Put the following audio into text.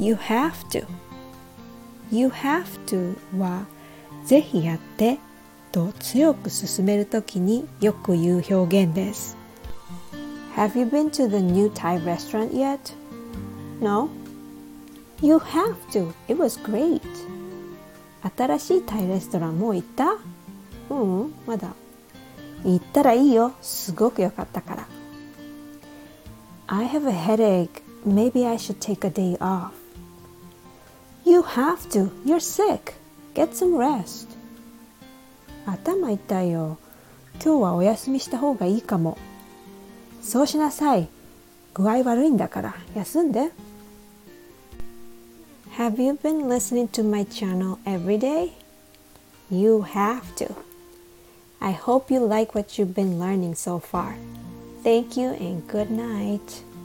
You have to。You have to はぜひやってと強く勧めるときによく言う表現です。Have you been to the new Thai restaurant yet? No? You have to. It was great. 新しいタイレストランもう行った？まだ。行ったらいいよ。すごく良かったから。I have a headache. Maybe I should take a day off. You have to. You're sick. Get some rest. 頭痛いよ。今日はお休みした方がいいかも。そうしなさい。具合悪いんだから休んで。Have you been listening to my channel every day? You have to. I hope you like what you've been learning so far. Thank you and good night.